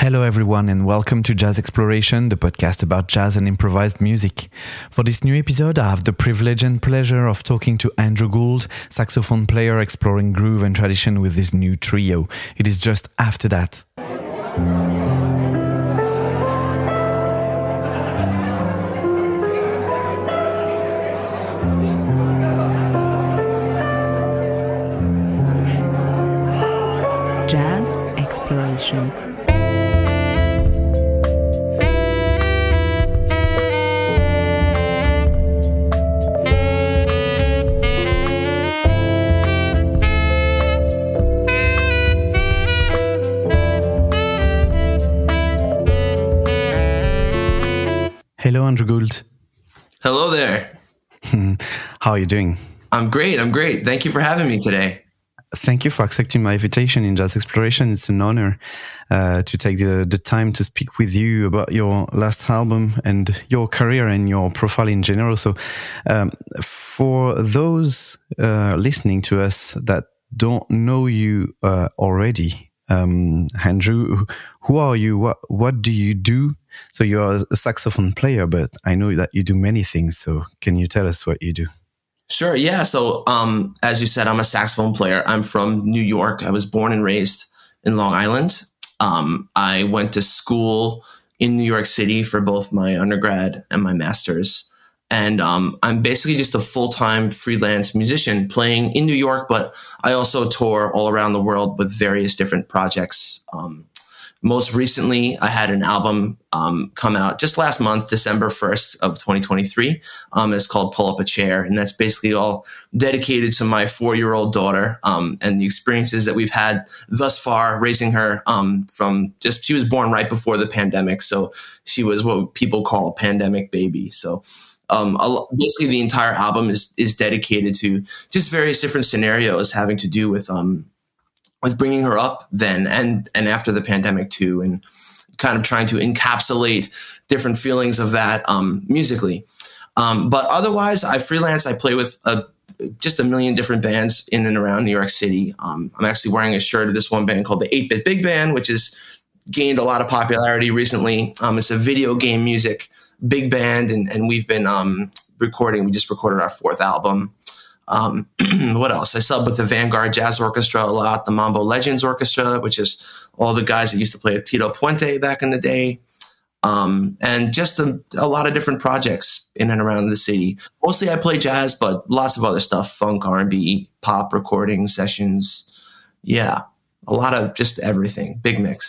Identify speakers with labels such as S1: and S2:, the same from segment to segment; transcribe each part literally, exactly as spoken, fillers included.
S1: Hello everyone and welcome to Jazz Exploration, the podcast about jazz and improvised music. For this new episode, I have the privilege and pleasure of talking to Andrew Gould, saxophone player exploring groove and tradition with his new trio. It is just after that.
S2: Jazz Exploration.
S1: Hello, Andrew Gould.
S3: Hello there.
S1: How are you doing?
S3: I'm great. I'm great. Thank you for having me today.
S1: Thank you for accepting my invitation in Jazz Exploration. It's an honor uh, to take the, the time to speak with you about your last album and your career and your profile in general. So um, for those uh, listening to us that don't know you uh, already, um, Andrew, who are you? What, what do you do? So you're a saxophone player, but I know that you do many things. So can you tell us what you do?
S3: Sure. Yeah. So, um, as you said, I'm a saxophone player. I'm from New York. I was born and raised in Long Island. Um, I went to school in New York City for both my undergrad and my master's. And um, I'm basically just a full-time freelance musician playing in New York, but I also tour all around the world with various different projects. Um, Most recently, I had an album um, come out just last month, December first of twenty twenty-three. Um, it's called Pull Up a Chair, and that's basically all dedicated to my four-year-old daughter um, and the experiences that we've had thus far raising her um, from just, she was born right before the pandemic, so she was what people call a pandemic baby. So um, a, basically the entire album is is dedicated to just various different scenarios having to do with um with bringing her up then and, and after the pandemic too, and kind of trying to encapsulate different feelings of that um, musically. Um, but otherwise, I freelance. I play with a, just a million different bands in and around New York City. Um, I'm actually wearing a shirt of this one band called the eight-Bit Big Band, which has gained a lot of popularity recently. Um, it's a video game music big band, and, and we've been um, recording. We just recorded our fourth album. Um, what else? I sub with the Vanguard Jazz Orchestra a lot, the Mambo Legends Orchestra, which is all the guys that used to play with Tito Puente back in the day. Um, and just a, a lot of different projects in and around the city. Mostly I play jazz, but lots of other stuff, funk, R and B, pop recording sessions. Yeah, a lot of just everything. Big mix.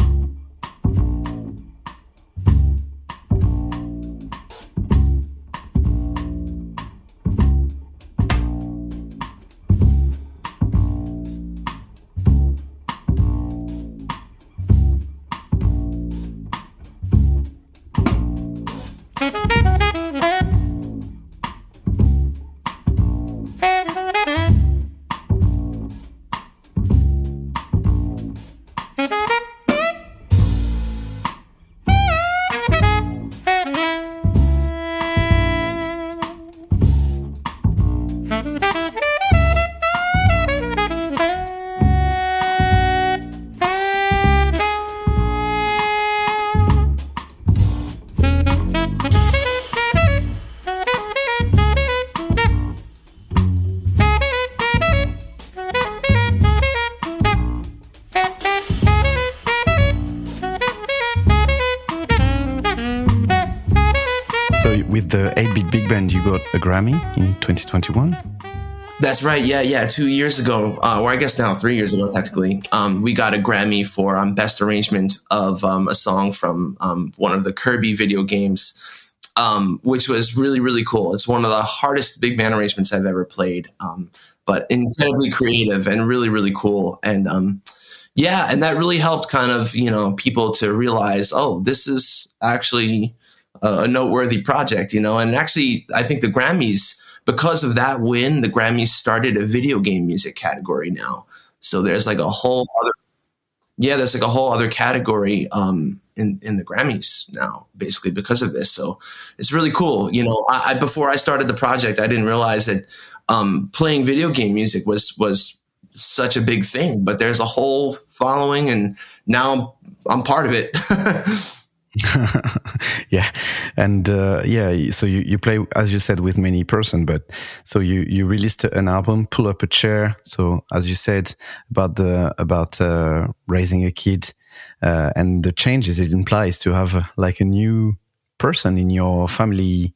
S1: With the eight-Bit Big Band, you got a Grammy in twenty twenty-one?
S3: That's right. Yeah, yeah. Two years ago, uh, or I guess now three years ago, technically, um, we got a Grammy for um, best arrangement of um, a song from um, one of the Kirby video games, um, which was really, really cool. It's one of the hardest big band arrangements I've ever played, um, but incredibly creative and really, really cool. And um, yeah, and that really helped kind of, you know, people to realize, oh, this is actually a noteworthy project, you know, and actually I think the Grammys, because of that win, the Grammys started a video game music category now. So there's like a whole other, yeah, there's like a whole other category um, in, in the Grammys now, basically because of this. So it's really cool. You know, I, I before I started the project, I didn't realize that um, playing video game music was, was such a big thing, but there's a whole following, and now I'm part of it.
S1: Yeah, and uh, yeah, so you, you play, as you said, with many person, but so you you released an album, Pull Up a Chair. So as you said about the about uh, raising a kid uh, and the changes it implies to have uh, like a new person in your family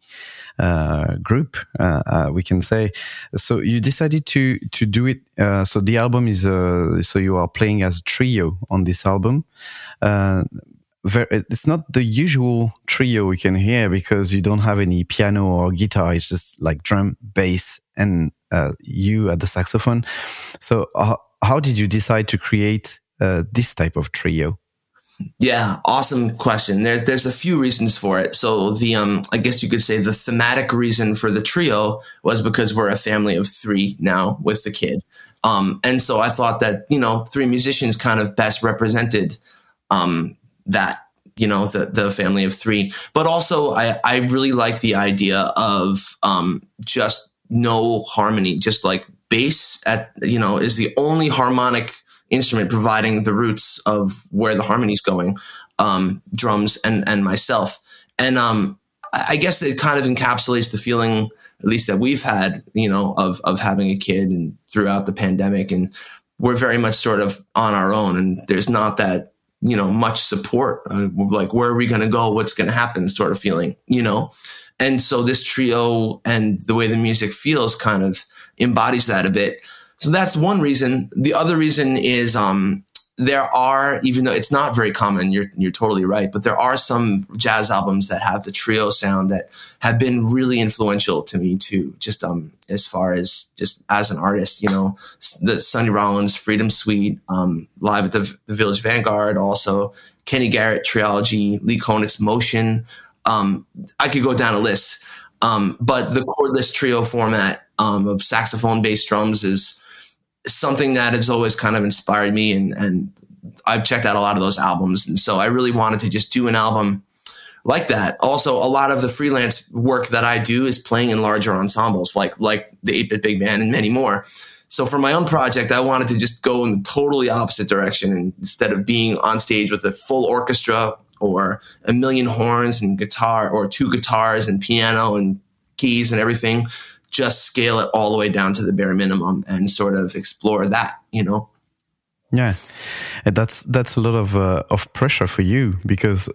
S1: uh, group, uh, uh, we can say. So you decided to to do it. Uh, so the album is uh, so you are playing as a trio on this album. Uh, Very, it's not the usual trio we can hear because you don't have any piano or guitar. It's just like drum, bass, and uh, you at the saxophone. So uh, how did you decide to create uh, this type of trio?
S3: Yeah, awesome question. There, there's a few reasons for it. So the, um, I guess you could say the thematic reason for the trio was because we're a family of three now with the kid. Um, and so I thought that, you know, three musicians kind of best represented um, that, you know, the, the family of three. But also I, I really like the idea of um, just no harmony, just like bass at, you know, is the only harmonic instrument providing the roots of where the harmony is going, um, drums and, and myself. And um, I guess it kind of encapsulates the feeling, at least that we've had, you know, of, of having a kid and throughout the pandemic. And we're very much sort of on our own, and there's not that, you know, much support, uh, like, where are we going to go? What's going to happen sort of feeling, you know? And so this trio and the way the music feels kind of embodies that a bit. So that's one reason. The other reason is, um, there are, even though it's not very common, you're, you're totally right, but there are some jazz albums that have the trio sound that have been really influential to me too, just, um, as far as just as an artist, you know, the Sonny Rollins Freedom Suite, um, live at the, the Village Vanguard, also Kenny Garrett Trilogy, Lee Konitz Motion. Um, I could go down a list. Um, but the chordless trio format, um, of saxophone, bass, drums is something that has always kind of inspired me, and, and I've checked out a lot of those albums. And so I really wanted to just do an album like that. Also, a lot of the freelance work that I do is playing in larger ensembles, like, like the eight-Bit Big Band and many more. So for my own project, I wanted to just go in the totally opposite direction. And instead of being on stage with a full orchestra or a million horns and guitar, or two guitars and piano and keys and everything, just scale it all the way down to the bare minimum and sort of explore that, you know?
S1: Yeah. And that's, that's a lot of, uh, of pressure for you, because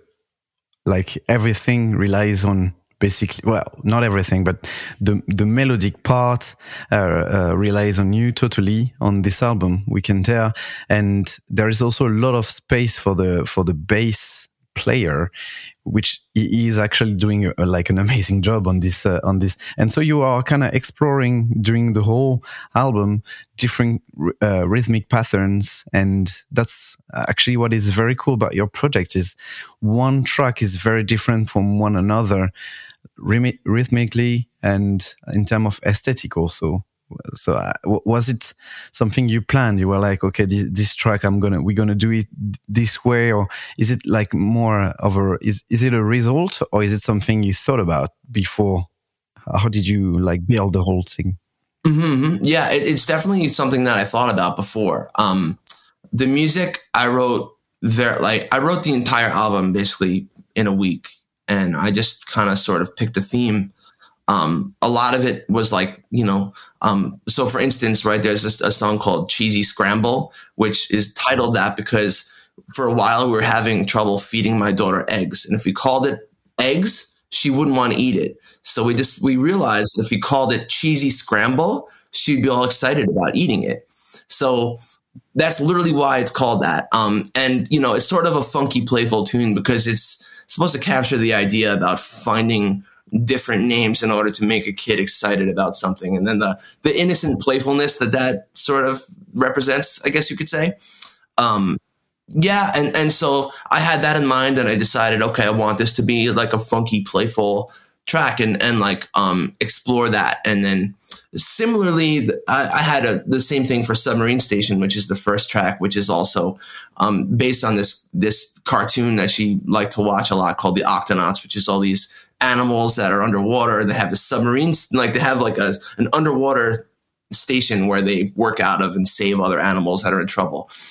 S1: like everything relies on basically, well, not everything, but the, the melodic part, uh, uh, relies on you totally on this album, we can tell. And there is also a lot of space for the, for the bass player, which he is actually doing a, like an amazing job on this, uh, on this. And so you are kind of exploring during the whole album different uh, rhythmic patterns. And that's actually what is very cool about your project, is one track is very different from one another, rhyth- rhythmically and in terms of aesthetic also. So uh, was it something you planned? You were like, okay, this, this track, I'm gonna, we're gonna do it this way, or is it like more of a, is is it a result, or is it something you thought about before? How did you like build the whole thing?
S3: Mm-hmm. Yeah, it, it's definitely something that I thought about before. Um, the music I wrote, very like I wrote the entire album basically in a week, and I just kind of sort of picked a theme. Um, a lot of it was like, you know, um, so for instance, right, there's this, a song called Cheesy Scramble, which is titled that because for a while we were having trouble feeding my daughter eggs. And if we called it eggs, she wouldn't want to eat it. So we just, we realized if we called it Cheesy Scramble, she'd be all excited about eating it. So that's literally why it's called that. Um, and, you know, it's sort of a funky, playful tune because it's supposed to capture the idea about finding different names in order to make a kid excited about something. And then the, the innocent playfulness that that sort of represents, I guess you could say. Um, yeah. And, and so I had that in mind, and I decided, okay, I want this to be like a funky, playful track, and, and like, um, explore that. And then similarly, I, I had a, the same thing for Submarine Station, which is the first track, which is also, um, based on this, this cartoon that she liked to watch a lot called The Octonauts, which is all these animals that are underwater. They have a submarine, like they have like a, an underwater station where they work out of and save other animals that are in trouble.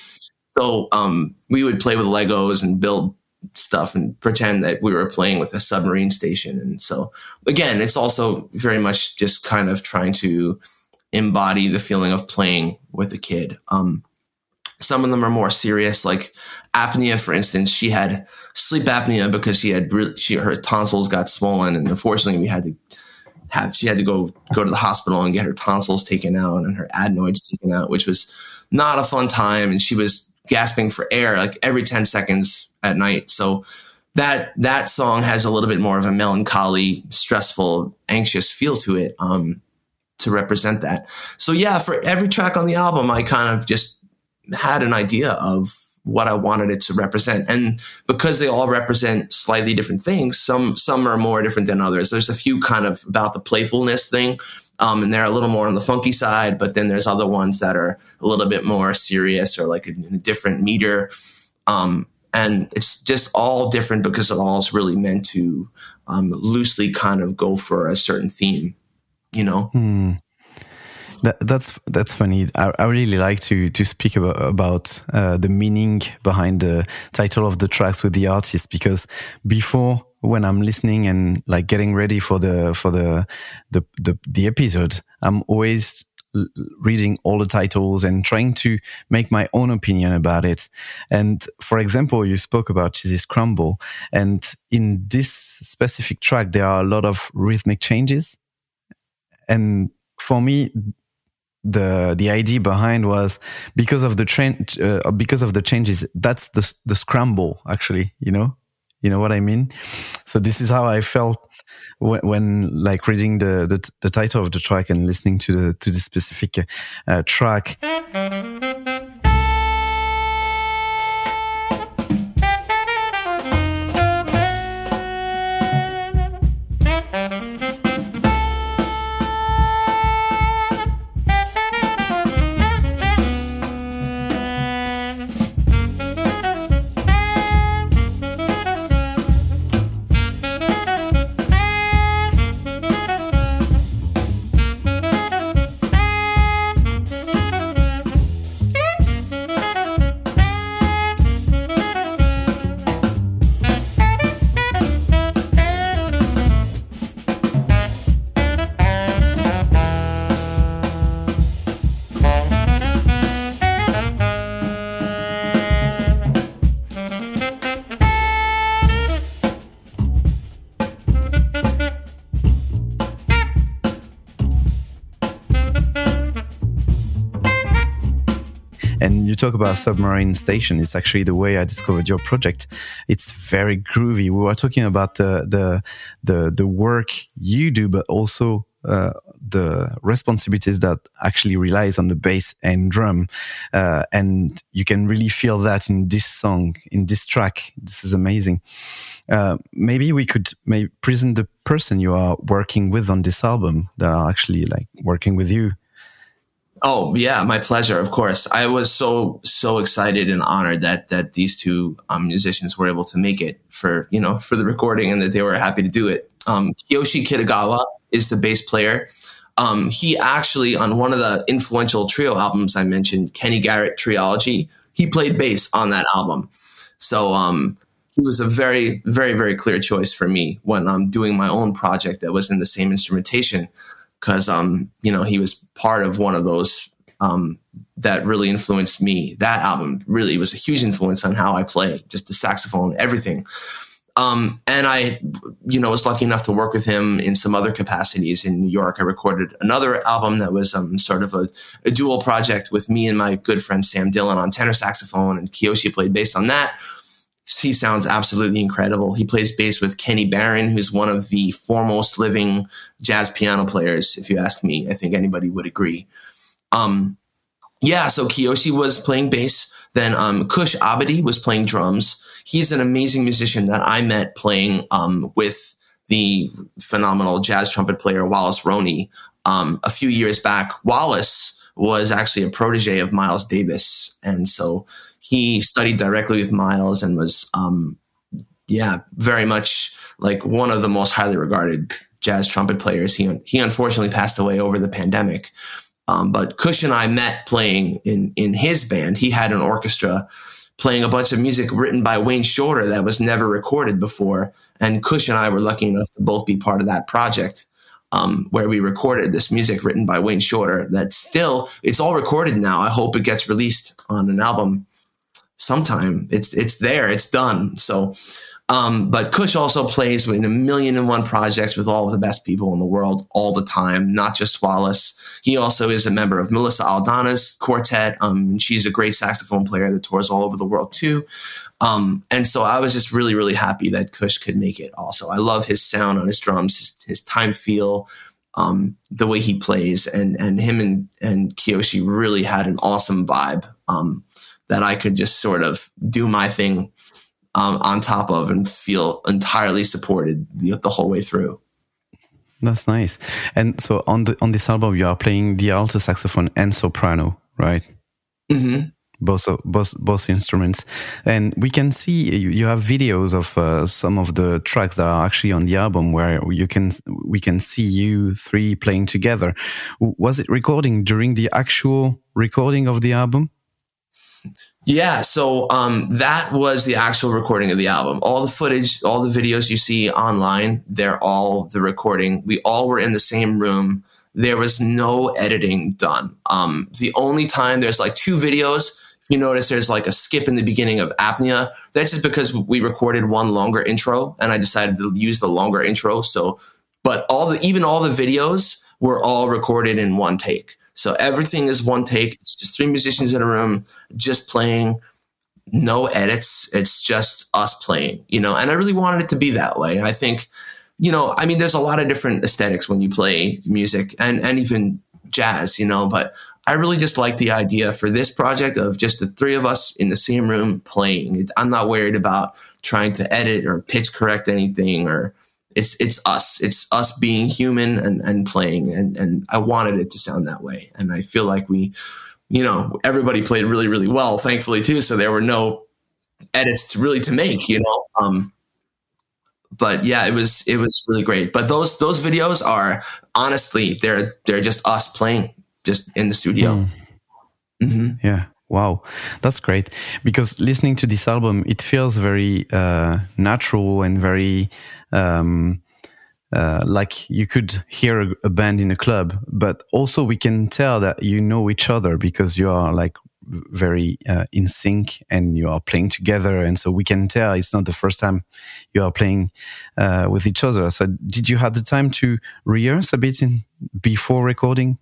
S3: So um, we would play with Legos and build stuff and pretend that we were playing with a submarine station. And so, again, it's also very much just kind of trying to embody the feeling of playing with a kid. Um, some of them are more serious, like apnea, for instance. She had sleep apnea because she had really, she, her tonsils got swollen, and unfortunately we had to have, she had to go, go to the hospital and get her tonsils taken out and her adenoids taken out, which was not a fun time. And she was gasping for air like every ten seconds at night. So that, that song has a little bit more of a melancholy, stressful, anxious feel to it, um, to represent that. So yeah, for every track on the album, I kind of just had an idea of what I wanted it to represent. And because they all represent slightly different things, some, some are more different than others. There's a few kind of about the playfulness thing. Um, and they're a little more on the funky side, but then there's other ones that are a little bit more serious or like a, a different meter. Um, and it's just all different because it all is really meant to um, loosely kind of go for a certain theme, you know?
S1: Hmm. That, that's that's funny. I, I really like to to speak about about uh, the meaning behind the title of the tracks with the artist, because before, when I'm listening and like getting ready for the for the the the, the episode, I'm always l- reading all the titles and trying to make my own opinion about it. And for example, you spoke about Cheesy Scramble, and in this specific track, there are a lot of rhythmic changes, and for me, the the idea behind was because of the trend, uh, because of the changes. That's the the scramble, actually. You know, you know what I mean. So this is how I felt when, when like reading the, the the title of the track and listening to the to the specific uh, track. And you talk about Submarine Station. It's actually the way I discovered your project. It's very groovy. We were talking about the the the, the work you do, but also uh, the responsibilities that actually relies on the bass and drum. Uh, and you can really feel that in this song, in this track. This is amazing. Uh, maybe we could maybe present the person you are working with on this album that are actually like working with you.
S3: Oh yeah, my pleasure. Of course, I was so so excited and honored that that these two um, musicians were able to make it for you know for the recording, and that they were happy to do it. Um, Kiyoshi Kitagawa is the bass player. Um, he actually, on one of the influential trio albums I mentioned, Kenny Garrett Triology, he played bass on that album. So um, he was a very very very clear choice for me when I'm doing my own project that was in the same instrumentation. Because, um, you know, he was part of one of those um, that really influenced me. That album really was a huge influence on how I play, just the saxophone, everything. Um, and I, you know, was lucky enough to work with him in some other capacities in New York. I recorded another album that was um, sort of a, a dual project with me and my good friend Sam Dillon on tenor saxophone, and Kiyoshi played bass on that. He sounds absolutely incredible. He plays bass with Kenny Barron, who's one of the foremost living jazz piano players. If you ask me, I think anybody would agree. Um, yeah, so Kiyoshi was playing bass. Then um, Kush Abadi was playing drums. He's an amazing musician that I met playing um, with the phenomenal jazz trumpet player Wallace Roney um, a few years back. Wallace was actually a protege of Miles Davis, and so he studied directly with Miles and was, um, yeah, very much like one of the most highly regarded jazz trumpet players. He he unfortunately passed away over the pandemic. Um, but Kush and I met playing in, in his band. He had an orchestra playing a bunch of music written by Wayne Shorter that was never recorded before. And Kush and I were lucky enough to both be part of that project, um, where we recorded this music written by Wayne Shorter that still, it's all recorded now. I hope it gets released on an album sometime. It's, it's there, it's done. So, Um, but Kush also plays in a million and one projects with all of the best people in the world all the time, not just Wallace. He also is a member of Melissa Aldana's quartet. Um, she's a great saxophone player that tours all over the world too. Um, and so I was just really, really happy that Kush could make it also. I love his sound on his drums, his, his time feel, um, the way he plays, and, and him and, and Kiyoshi really had an awesome vibe, um, that I could just sort of do my thing Um, on top of and feel entirely supported the, the whole way through.
S1: That's nice. And so on the on this album, you are playing the alto saxophone and soprano, right?
S3: Mm-hmm.
S1: Both both both instruments, and we can see you, you have videos of uh, some of the tracks that are actually on the album where you can we can see you three playing together. Was it recording during the actual recording of the album?
S3: Yeah, so um, that was the actual recording of the album. All the footage, all the videos you see online, they're all the recording. We all were in the same room. There was no editing done. Um, the only time there's like two videos, if you notice there's like a skip in the beginning of Apnea. That's just because we recorded one longer intro, and I decided to use the longer intro. So, but all the even all the videos were all recorded in one take. So everything is one take. It's just three musicians in a room, just playing, no edits. It's just us playing, you know, and I really wanted it to be that way. I think, you know, I mean, there's a lot of different aesthetics when you play music and, and even jazz, you know, but I really just like the idea for this project of just the three of us in the same room playing. It, I'm not worried about trying to edit or pitch correct anything, or It's it's us. It's us being human and, and playing. And, and I wanted it to sound that way. And I feel like we, you know, everybody played really, really well, thankfully, too. So there were no edits to really to make, you know. Um, but yeah, it was it was really great. But those those videos are honestly, they're they're just us playing just in the studio.
S1: Mm. Mm-hmm. Yeah. Wow, that's great. Because listening to this album, it feels very uh, natural and very um, uh, like you could hear a, a band in a club. But also we can tell that you know each other because you are like very uh, in sync and you are playing together. And so we can tell it's not the first time you are playing uh, with each other. So did you have the time to rehearse a bit in, before recording?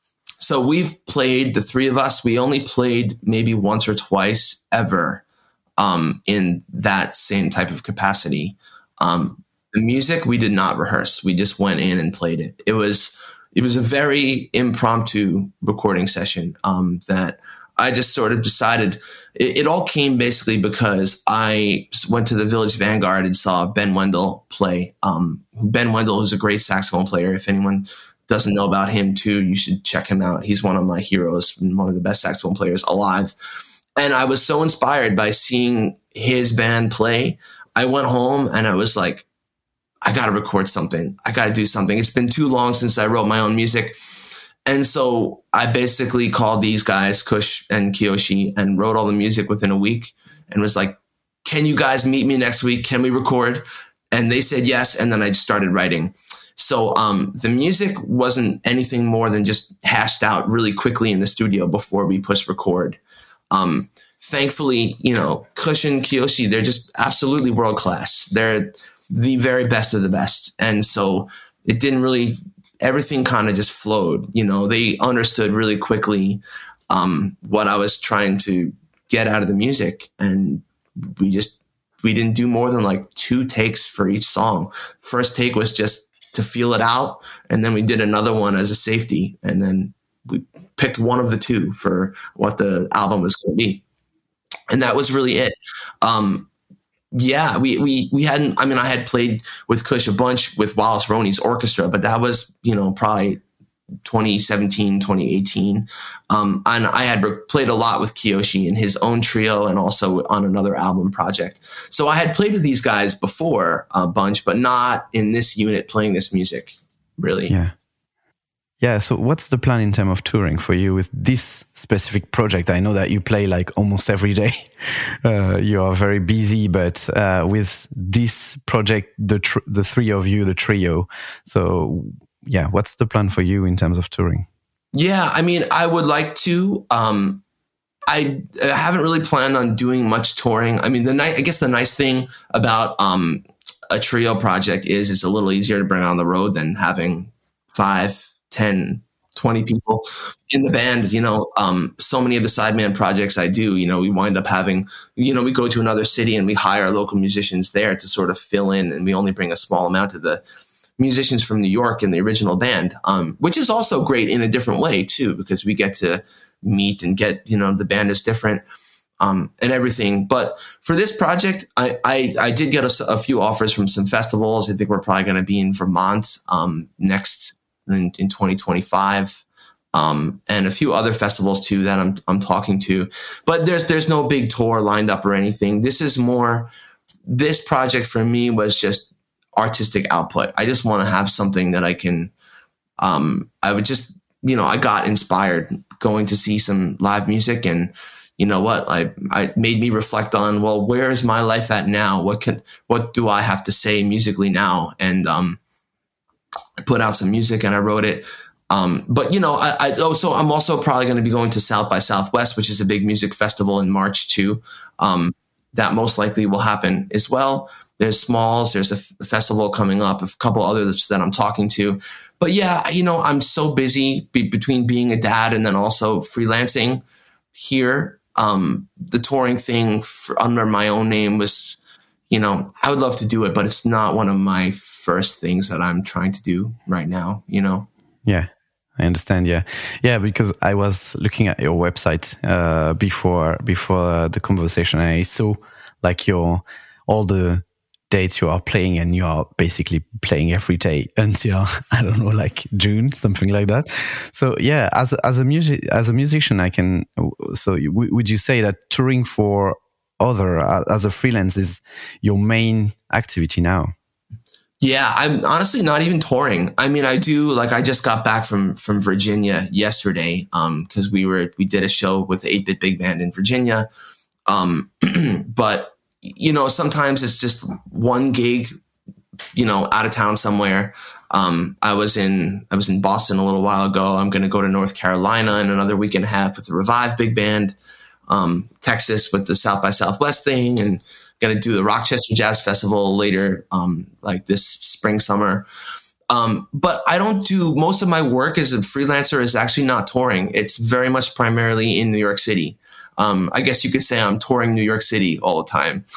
S3: So we've played, the three of us, we only played maybe once or twice ever um, in that same type of capacity. Um, the music, we did not rehearse. We just went in and played it. It was it was a very impromptu recording session um, that I just sort of decided. It, it all came basically because I went to the Village Vanguard and saw Ben Wendell play. Um, Ben Wendell is a great saxophone player. If anyone doesn't know about him too, you should check him out. He's one of my heroes, one of the best saxophone players alive. And I was so inspired by seeing his band play. I went home and I was like, I got to record something. I got to do something. It's been too long since I wrote my own music. And so I basically called these guys, Kush and Kiyoshi, and wrote all the music within a week and was like, can you guys meet me next week? Can we record? And they said yes. And then I started writing. So um, the music wasn't anything more than just hashed out really quickly in the studio before we pushed record. Um, thankfully, you know, Kush and Kiyoshi, they're just absolutely world class. They're the very best of the best. And so it didn't really, everything kind of just flowed. You know, they understood really quickly um, what I was trying to get out of the music. And we just, we didn't do more than like two takes for each song. First take was just to feel it out. And then we did another one as a safety. And then we picked one of the two for what the album was going to be. And that was really it. Um, yeah, we, we, we hadn't, I mean, I had played with Kush a bunch with Wallace Roney's orchestra, but that was, you know, probably twenty seventeen, twenty eighteen. Um, and I had re- played a lot with Kiyoshi in his own trio and also on another album project. So I had played with these guys before a bunch, but not in this unit playing this music, really.
S1: Yeah. yeah. So what's the plan in terms of touring for you with this specific project? I know that you play like almost every day. Uh, you are very busy, but uh, with this project, the tr- the three of you, the trio. So yeah, what's the plan for you in terms of touring?
S3: Yeah, I mean, I would like to. Um, I, I haven't really planned on doing much touring. I mean, the ni- I guess the nice thing about um, a trio project is it's a little easier to bring on the road than having five, ten, twenty people in the band. You know, um, so many of the sideman projects I do, you know, we wind up having, you know, we go to another city and we hire local musicians there to sort of fill in, and we only bring a small amount of the musicians from New York in the original band, um, which is also great in a different way too, because we get to meet and get, you know, the band is different, um, and everything. But for this project, I, I, I did get a, a few offers from some festivals. I think we're probably going to be in Vermont, um, next in, in twenty twenty-five. Um, and a few other festivals too that I'm, I'm talking to, but there's, there's no big tour lined up or anything. This is more, this project for me was just artistic output. I just want to have something that I can, um, I would just, you know, I got inspired going to see some live music, and you know what, I, I made me reflect on, well, where is my life at now? What can, what do I have to say musically now? And, um, I put out some music and I wrote it. Um, but you know, I, I, oh, so I'm also probably going to be going to South by Southwest, which is a big music festival in March too. Um, that most likely will happen as well. There's Smalls. There's a, f- a festival coming up, a couple others that I'm talking to. But yeah, you know, I'm so busy be- between being a dad and then also freelancing here. Um, the touring thing for, under my own name was, you know, I would love to do it, but it's not one of my first things that I'm trying to do right now, you know?
S1: Yeah. I understand. Yeah. Yeah. Because I was looking at your website, uh, before, before the conversation, and I saw like your, all the dates you are playing, and you are basically playing every day until, I don't know, like June, something like that. So yeah, as, as a music, as a musician, I can, so w- would you say that touring for other, uh, as a freelance is your main activity now?
S3: Yeah, I'm honestly not even touring. I mean, I do, like, I just got back from, from Virginia yesterday, um, cause we were, we did a show with the eight bit Big Band in Virginia. Um, but, you know, sometimes it's just one gig, you know, out of town somewhere. Um, I was in, I was in Boston a little while ago. I'm going to go to North Carolina in another week and a half with the Revive Big Band, um, Texas with the South by Southwest thing, and going to do the Rochester Jazz Festival later, um, like this spring, summer. Um, but I don't do, most of my work as a freelancer is actually not touring. It's very much primarily in New York City. Um, I guess you could say I'm touring New York City all the time,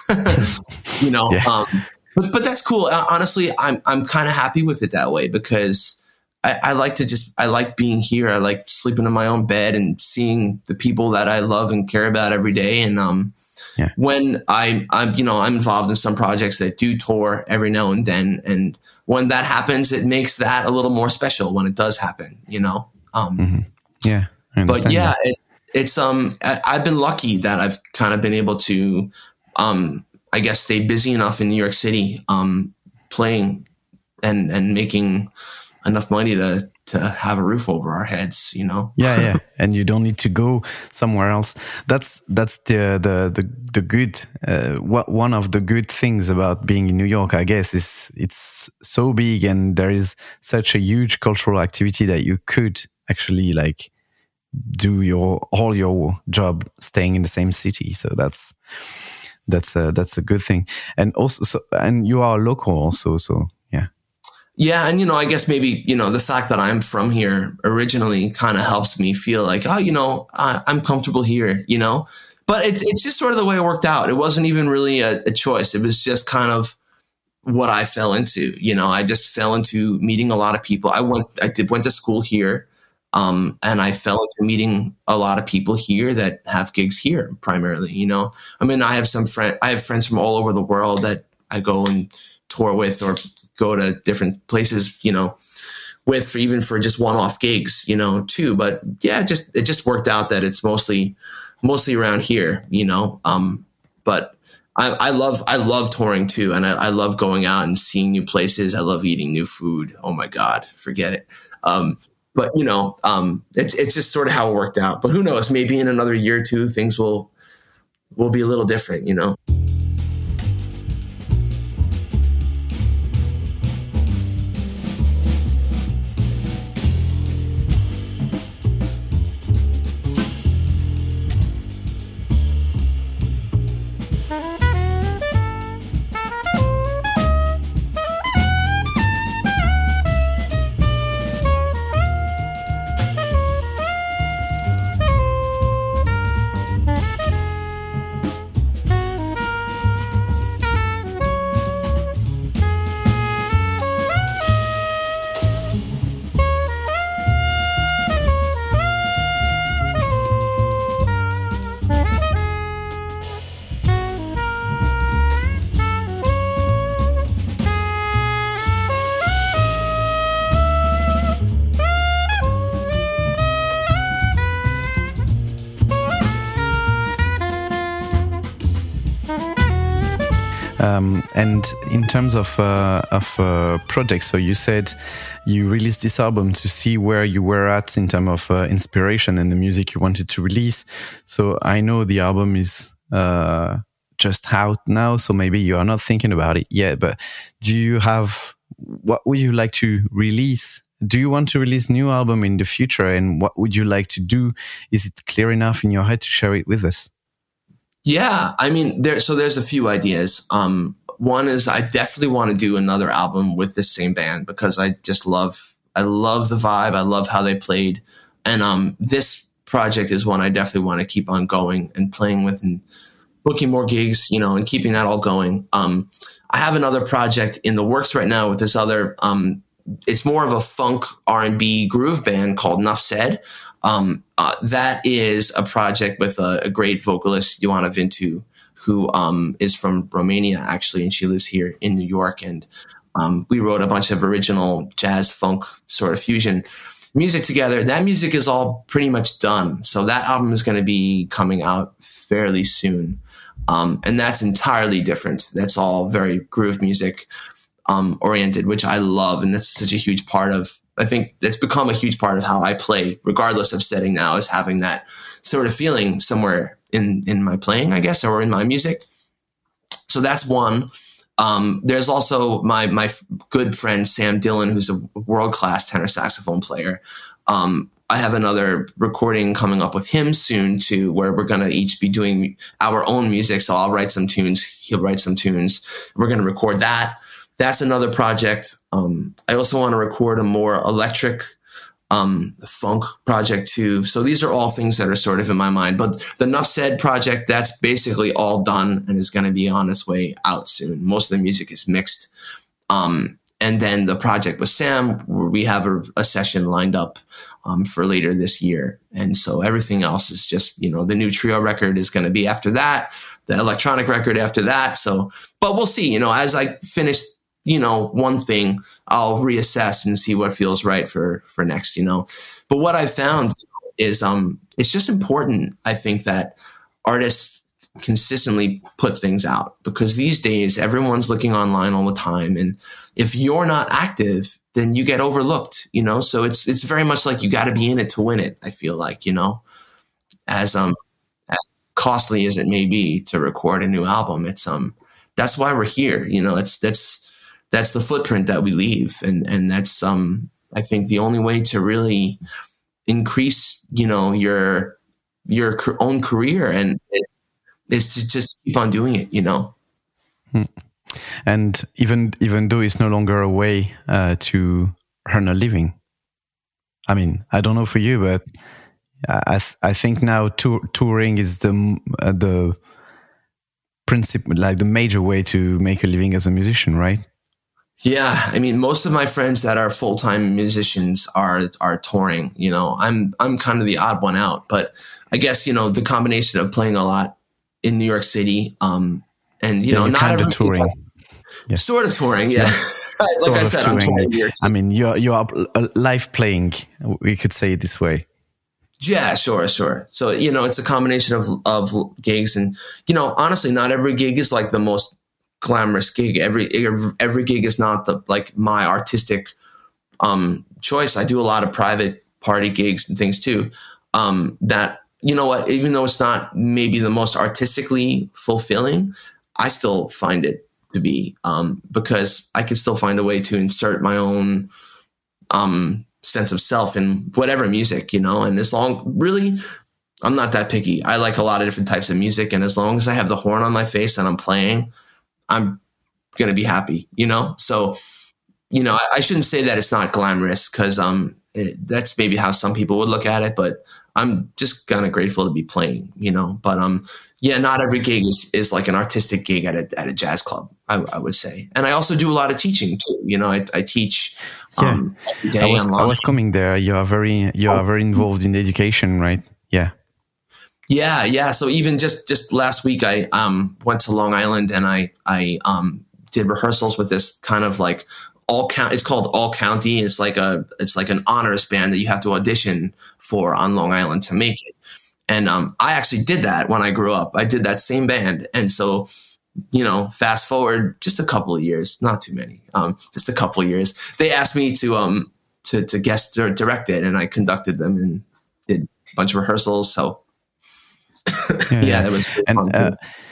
S3: you know, yeah. um, but, but that's cool. Uh, honestly, I'm, I'm kind of happy with it that way, because I, I like to just, I like being here. I like sleeping in my own bed and seeing the people that I love and care about every day. And, um, Yeah. When I, I'm, you know, I'm involved in some projects that do tour every now and then, and when that happens, it makes that a little more special when it does happen, you know. Um,
S1: mm-hmm. Yeah,
S3: but yeah, it, it's um, I, I've been lucky that I've kind of been able to, um, I guess, stay busy enough in New York City, um, playing and and making enough money to. to have a roof over our heads, you know?
S1: yeah, yeah. And you don't need to go somewhere else. That's, that's the, the, the, the good, uh, what, one of the good things about being in New York, I guess, is it's so big and there is such a huge cultural activity that you could actually like do your, all your job staying in the same city. So that's, that's a, that's a good thing. And also, so, and you are local also. So yeah.
S3: Yeah. And, you know, I guess maybe, you know, the fact that I'm from here originally kind of helps me feel like, oh, you know, I, I'm comfortable here, you know, but it's, it's just sort of the way it worked out. It wasn't even really a, a choice. It was just kind of what I fell into, you know, I just fell into meeting a lot of people. I went, I did, went to school here. Um, and I fell into meeting a lot of people here that have gigs here primarily, you know, I mean, I have some friend, I have friends from all over the world that I go and tour with or go to different places, you know, with for even for just one-off gigs, you know, too. But yeah, just it just worked out that it's mostly mostly around here, you know. Um, but I, I love I love touring too, and I, I love going out and seeing new places. I love eating new food. Oh my God, forget it. Um, but you know, um, it's it's just sort of how it worked out. But who knows? Maybe in another year or two, things will will be a little different. You know.
S1: Um, and in terms of uh, of uh, projects, so you said you released this album to see where you were at in terms of uh, inspiration and the music you wanted to release. So I know the album is uh, just out now, so maybe you are not thinking about it yet. But do you have, what would you like to release? Do you want to release new album in the future? And what would you like to do? Is it clear enough in your head to share it with us?
S3: Yeah, I mean, there. So there's a few ideas. Um, one is I definitely want to do another album with this same band because I just love, I love the vibe. I love how they played, and um, this project is one I definitely want to keep on going and playing with and booking more gigs, you know, and keeping that all going. Um, I have another project in the works right now with this other. Um, it's more of a funk R and B groove band called Nuff Said. Um, uh, that is a project with a, a great vocalist, Ioana Vintu, who um, is from Romania, actually, and she lives here in New York. And um, we wrote a bunch of original jazz funk sort of fusion music together. That music is all pretty much done. So that album is going to be coming out fairly soon. Um, and that's entirely different. That's all very groove music um, oriented, which I love. And that's such a huge part of, I think it's become a huge part of how I play, regardless of setting now, is having that sort of feeling somewhere in, in my playing, I guess, or in my music. So that's one. Um, there's also my, my good friend, Sam Dillon, who's a world-class tenor saxophone player. Um, I have another recording coming up with him soon too, where we're going to each be doing our own music. So I'll write some tunes. He'll write some tunes. We're going to record that. That's another project. Um, I also want to record a more electric um, funk project too. So these are all things that are sort of in my mind. But the Nuff Said project, that's basically all done and is going to be on its way out soon. Most of the music is mixed. Um, and then the project with Sam, where we have a, a session lined up um, for later this year. And so everything else is just, you know, the new trio record is going to be after that, the electronic record after that. So, but we'll see, you know, as I finish, you know, one thing, I'll reassess and see what feels right for, for next, you know. But what I've found is um, it's just important, I think, that artists consistently put things out, because these days everyone's looking online all the time. And if you're not active, then you get overlooked, you know. So it's it's very much like you got to be in it to win it, I feel like, you know, as um as costly as it may be to record a new album. It's um that's why we're here, you know. It's that's that's the footprint that we leave. And, and that's, um, I think the only way to really increase, you know, your, your own career and is to just keep on doing it, you know?
S1: Hmm. And even, even though it's no longer a way, uh, to earn a living. I mean, I don't know for you, but I, th- I think now tour- touring is the, uh, the principle, like the major way to make a living as a musician, right?
S3: Yeah, I mean, most of my friends that are full-time musicians are are touring. You know, I'm I'm kind of the odd one out, but I guess, you know, the combination of playing a lot in New York City, um, and you yeah, know, not
S1: kind of touring,
S3: yeah. sort of touring, yeah. yeah. like sort I said, touring. I'm touring here.
S1: I mean, you're you're live playing. We could say it this way.
S3: Yeah, sure, sure. So, you know, it's a combination of of gigs, and you know, honestly, not every gig is like the most glamorous gig. Every every gig is not the like my artistic um choice. I do a lot of private party gigs and things too. Um, that, you know what, even though it's not maybe the most artistically fulfilling, I still find it to be, um, because I can still find a way to insert my own, um, sense of self in whatever music, you know, and as long, really, I'm not that picky. I like a lot of different types of music. And as long as I have the horn on my face and I'm playing, I'm going to be happy, you know? So, you know, I, I shouldn't say that it's not glamorous, because um, it, that's maybe how some people would look at it, but I'm just kind of grateful to be playing, you know? But um, yeah, not every gig is, is like an artistic gig at a, at a jazz club, I, I would say. And I also do a lot of teaching too. You know, I, I teach um,
S1: yeah.
S3: every day
S1: I was,
S3: online.
S1: I was coming there. You are very, you are very involved in education, right? Yeah.
S3: Yeah, yeah. So even just, just last week, I um, went to Long Island and I I um, did rehearsals with this kind of like all count. It's called All County. It's like a it's like an honors band that you have to audition for on Long Island to make it. And um, I actually did that when I grew up. I did that same band, and so you know, fast forward just a couple of years, not too many, um, just a couple of years. They asked me to um to to guest or direct it, and I conducted them and did a bunch of rehearsals. So.
S1: Yeah,
S3: yeah, that was
S1: and
S3: fun
S1: uh,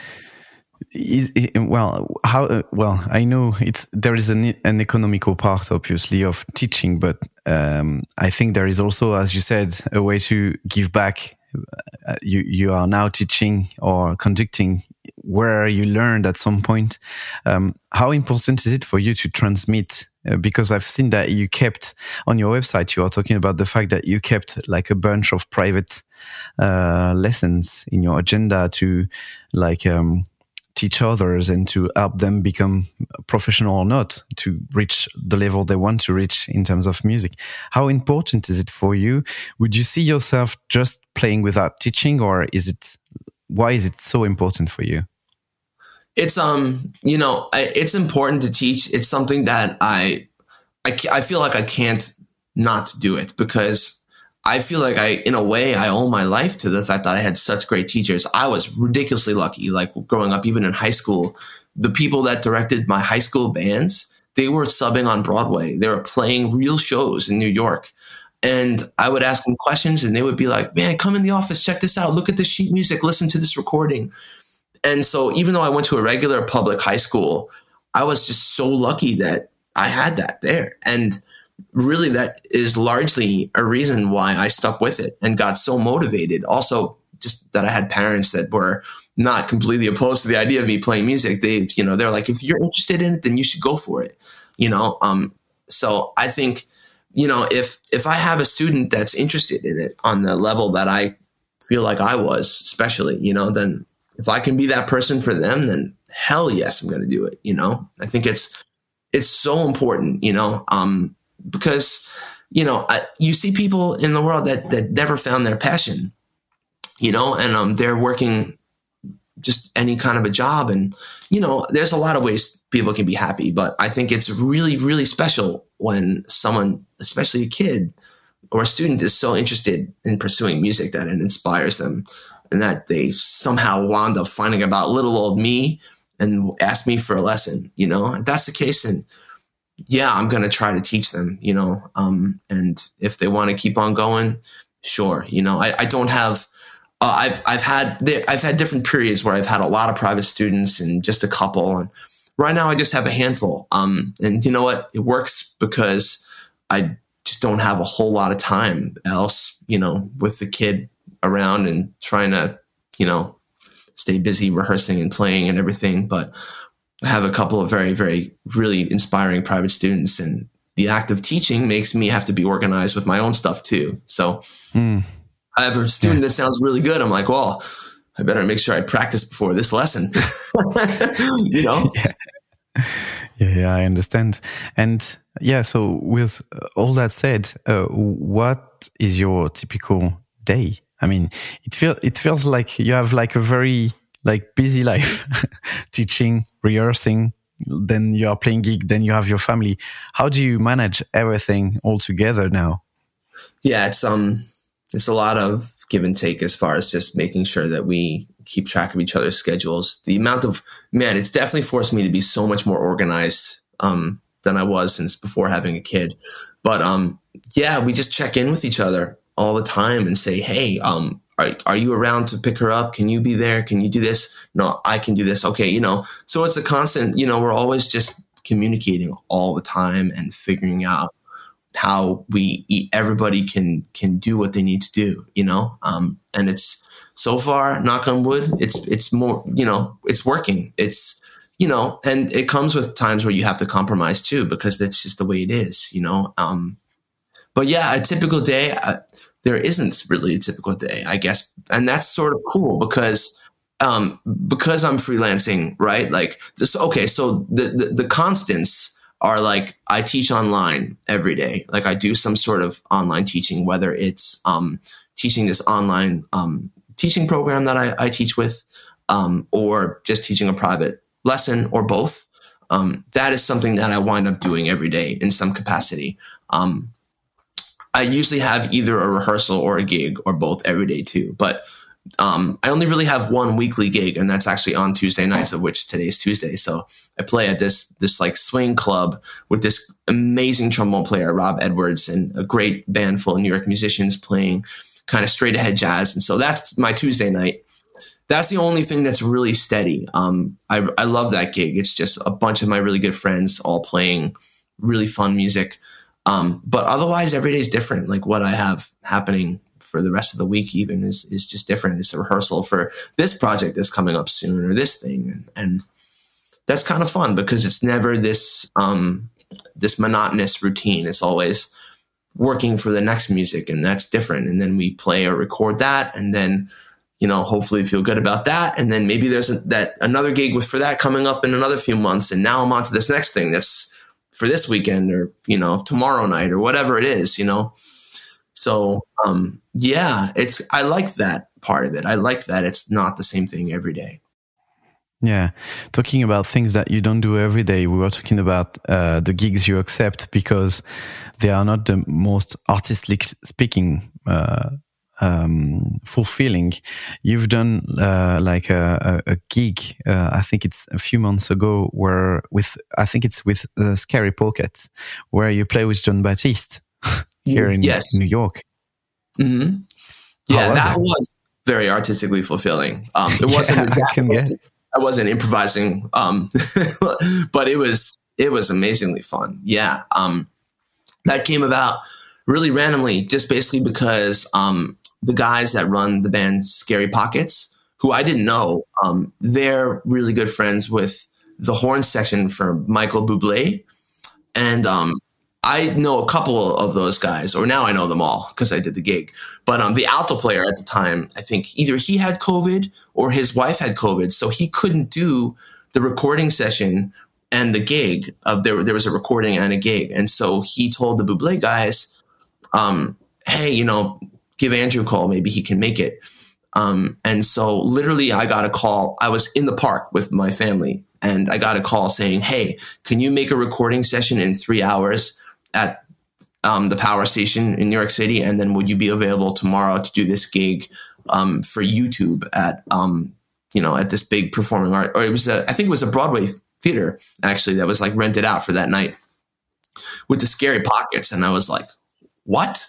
S1: is, well, how uh, well I know it's there is an an economical part, obviously, of teaching, but um, I think there is also, as you said, a way to give back. Uh, you you are now teaching or conducting where you learned at some point. Um, how important is it for you to transmit? Uh, because I've seen that you kept on your website, you are talking about the fact that you kept like a bunch of private uh, lessons in your agenda to like um, teach others and to help them become professional or not, to reach the level they want to reach in terms of music. How important is it for you? Would you see yourself just playing without teaching, or is it, why is it so important for you?
S3: It's, um, you know, I, it's important to teach. It's something that I, I, I feel like I can't not do it, because I feel like I, in a way, I owe my life to the fact that I had such great teachers. I was ridiculously lucky. Like growing up, even in high school, the people that directed my high school bands, they were subbing on Broadway. They were playing real shows in New York. And I would ask them questions and they would be like, man, come in the office, check this out. Look at this sheet music. Listen to this recording. And so even though I went to a regular public high school, I was just so lucky that I had that there. And really, that is largely a reason why I stuck with it and got so motivated. Also, just that I had parents that were not completely opposed to the idea of me playing music. They, you know, they're like, if you're interested in it, then you should go for it. You know, um, so I think, you know, if if I have a student that's interested in it on the level that I feel like I was, especially, you know, then if I can be that person for them, then hell yes, I'm going to do it. You know, I think it's it's so important, you know, um, because, you know, I, you see people in the world that that never found their passion, you know, and um, they're working just any kind of a job. And, you know, there's a lot of ways people can be happy, but I think it's really, really special when someone, especially a kid or a student, is so interested in pursuing music that it inspires them and that they somehow wound up finding about little old me and ask me for a lesson. You know, if that's the case, and yeah, I'm going to try to teach them, you know, um, and if they want to keep on going, sure. You know, I, I don't have, uh, I've, I've had, I've had different periods where I've had a lot of private students and just a couple. And right now I just have a handful. Um, and you know what? It works because I just don't have a whole lot of time else, you know, with the kid around and trying to, you know, stay busy rehearsing and playing and everything. But I have a couple of very, very, really inspiring private students, and the act of teaching makes me have to be organized with my own stuff too. So mm. I have a student yeah. that sounds really good. I'm like, well, I better make sure I practice before this lesson, you know?
S1: Yeah. yeah, yeah, I understand. And yeah, so with all that said, uh, what is your typical day? I mean, it feels it feels like you have like a very like busy life, teaching, rehearsing, then you are playing gig, then you have your family. How do you manage everything all together now?
S3: Yeah, it's um, it's a lot of give and take as far as just making sure that we keep track of each other's schedules. The amount of man, it's definitely forced me to be so much more organized um than I was since before having a kid. But um, yeah, we just check in with each other all the time and say, hey, um, are, are you around to pick her up? Can you be there? Can you do this? No, I can do this. Okay, you know, so it's a constant, you know, we're always just communicating all the time and figuring out how we everybody can can do what they need to do, you know. Um, and it's so far, knock on wood, it's it's more, you know, it's working. It's, you know, and it comes with times where you have to compromise too, because that's just the way it is, you know. Um, but yeah, a typical day, uh, there isn't really a typical day, I guess, and that's sort of cool because um, because I'm freelancing, right? Like this. Okay, so the the, the constants are like I teach online every day. Like I do some sort of online teaching, whether it's um, teaching this online um, teaching program that I, I teach with, um, or just teaching a private lesson, or both. Um, that is something that I wind up doing every day in some capacity. Um, I usually have either a rehearsal or a gig or both every day too. But Um, I only really have one weekly gig, and that's actually on Tuesday nights, of which today's Tuesday. So I play at this this like swing club with this amazing trombone player, Rob Edwards, and a great band full of New York musicians playing kind of straight ahead jazz. And so that's my Tuesday night. That's the only thing that's really steady. Um, I, I love that gig. It's just a bunch of my really good friends all playing really fun music. Um, but otherwise, every day is different. Like what I have happening for the rest of the week even is, is just different. It's a rehearsal for this project that's coming up soon, or this thing. And, and that's kind of fun because it's never this, um, this monotonous routine. It's always working for the next music, and that's different. And then we play or record that, and then, you know, hopefully feel good about that. And then maybe there's a, that another gig with for that coming up in another few months. And now I'm on to this next thing that's for this weekend, or, you know, tomorrow night, or whatever it is, you know? So, um, yeah, it's, I like that part of it. I like that it's not the same thing every day.
S1: Yeah. Talking about things that you don't do every day, we were talking about uh, the gigs you accept because they are not the most artistically speaking uh, um, fulfilling. You've done uh, like a, a, a gig, uh, I think it's a few months ago, where with, I think it's with uh, Scary Pocket, where you play with Jon Batiste. Here in
S3: yes.
S1: New York.
S3: Mm-hmm. Yeah,
S1: was
S3: that
S1: it?
S3: was very artistically fulfilling. Um, it wasn't,
S1: yeah, I,
S3: I, wasn't I wasn't improvising, um, but it was it was amazingly fun. Yeah, um, that came about really randomly, just basically because um, the guys that run the band Scary Pockets, who I didn't know, um, they're really good friends with the horn section for Michael Bublé, and um, I know a couple of those guys, or now I know them all because I did the gig. But um, the alto player at the time, I think either he had COVID or his wife had COVID, so he couldn't do the recording session and the gig. Of there, there was a recording and a gig, and so he told the Bublé guys, um, "Hey, you know, give Andrew a call. Maybe he can make it." Um, and so, literally, I got a call. I was in the park with my family, and I got a call saying, "Hey, can you make a recording session in three hours?" at um, the Power Station in New York City, and then would you be available tomorrow to do this gig um, for YouTube at um, you know at this big performing art, or it was a, I think it was a Broadway theater actually that was like rented out for that night with the Scary Pockets, and I was like, what?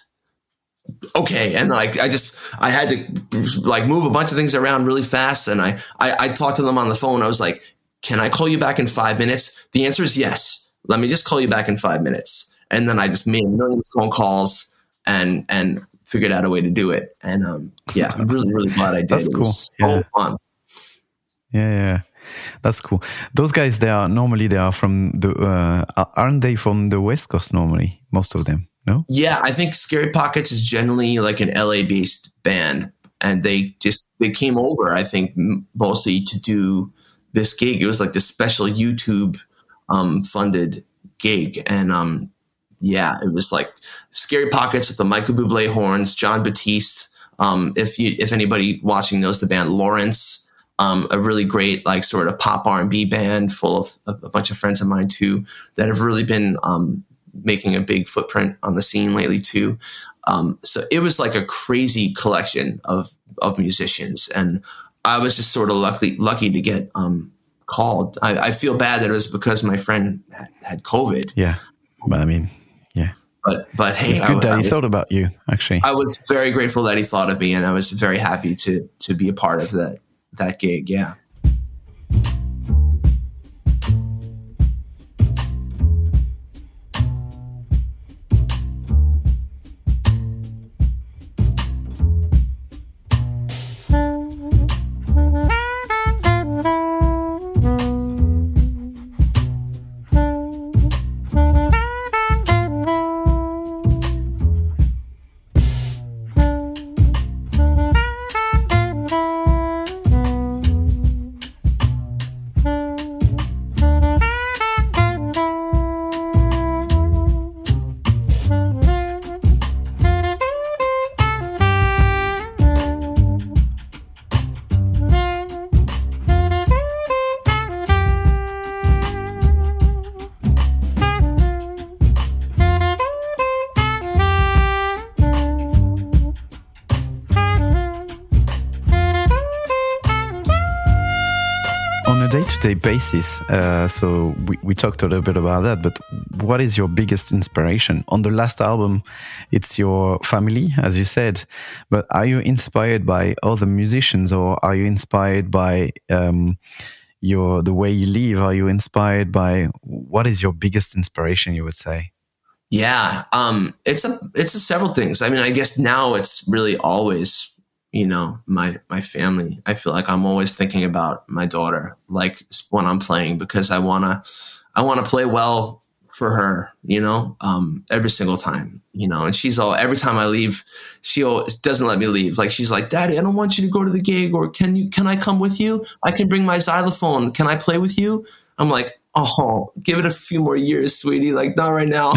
S3: Okay, and like I just I had to like move a bunch of things around really fast, and I I, I talked to them on the phone. I was like, can I call you back in five minutes? The answer is yes. Let me just call you back in five minutes. And then I just made a million phone calls and and figured out a way to do it. And um, yeah, I'm really, really glad I did.
S1: That's
S3: it
S1: cool.
S3: was
S1: Yeah.
S3: so fun.
S1: Yeah, yeah, that's cool. Those guys, they are normally they are from the uh, aren't they from the West Coast normally? Most of them, no?
S3: Yeah, I think Scary Pockets is generally like an L A based band, and they just they came over. I think mostly to do this gig. It was like this special YouTube um, funded gig, and um. Yeah, it was like Scary Pockets with the Michael Bublé horns, Jon Batiste. Um, if you, if anybody watching knows the band Lawrence, um, a really great like sort of pop R and B band full of a, a bunch of friends of mine too that have really been um, making a big footprint on the scene lately too. Um, so it was like a crazy collection of of musicians, and I was just sort of lucky lucky to get um, called. I, I feel bad that it was because my friend had, had COVID.
S1: Yeah, but I mean. Yeah.
S3: But but hey,
S1: it's good
S3: I,
S1: that
S3: I
S1: he
S3: was,
S1: thought about you. Actually,
S3: I was very grateful that he thought of me, and I was very happy to to be a part of that that gig. Yeah.
S1: day-to-day basis, uh, so we, we talked a little bit about that, but what is your biggest inspiration? On the last album, it's your family, as you said, but are you inspired by other musicians, or are you inspired by um, your the way you live? Are you inspired by, what is your biggest inspiration, you would say?
S3: Yeah, um, it's a it's a several things. I mean, I guess now it's really always, you know, my my family. I feel like I'm always thinking about my daughter, like when I'm playing, because I wanna I wanna play well for her, you know, um, every single time, you know. And she's all, every time I leave, she always doesn't let me leave. Like, she's like, "Daddy, I don't want you to go to the gig, or can you can I come with you? I can bring my xylophone. Can I play with you?" I'm like, "Oh, give it a few more years, sweetie. Like, not right now."